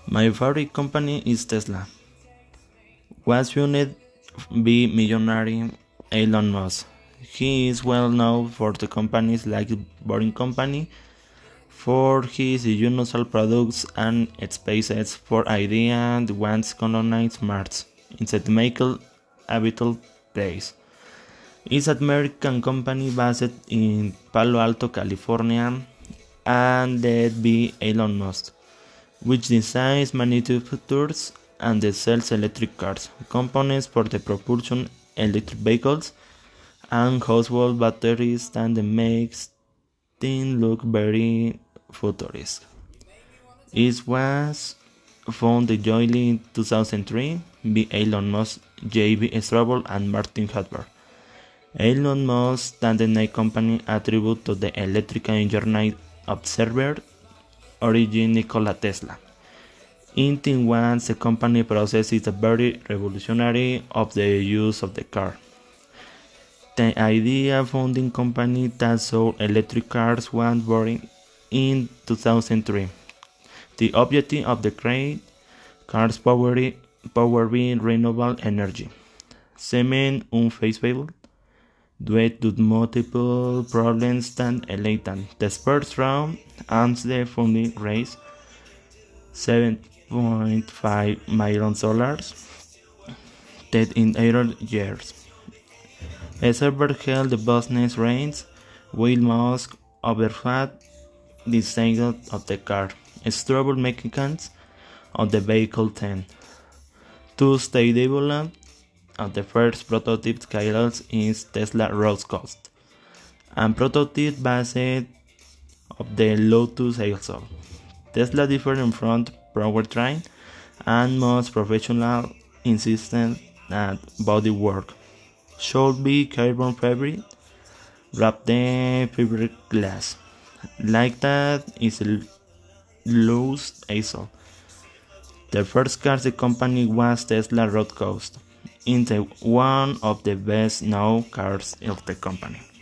My favorite company is Tesla. Was founded by millionaire Elon Musk. He is well known for the companies like Boring Company for his unusual products and SpaceX for idea that wants to colonize Mars instead make a habitable place. It's an American company based in Palo Alto, California, and led by Elon Musk, which designs, manufactures, and sells electric cars, components for the propulsion electric vehicles, and household batteries that makes things look very futuristic. It was founded jointly in 2003 by Elon Musk, J.B. Straubel, and Martin Hudber. Elon Musk and the Nike company attribute to the electrical engineering observer origin Nikola Tesla. In once the company process is very revolutionary of the use of the car. The idea founding company that sold electric cars was born in 2003. The objective of the create cars powered by renewable energy. Seeming unfeasible due to multiple problems that elated. The first round and the funding raised $7.5 million that in 8 years. A server held the business reins while Musk oversaw the design of the car, stable mechanics of the vehicle 10. To stay developed the first prototype scales in Tesla Roadster Coast, and prototype based of the Lotus Elson. Tesla different front powertrain and most professional insistent that bodywork should be carbon fiber wrapped in fiberglass. Like that is Lotus Elson. The first car the company was Tesla Roadster Coast, into one of the best known cars of the company.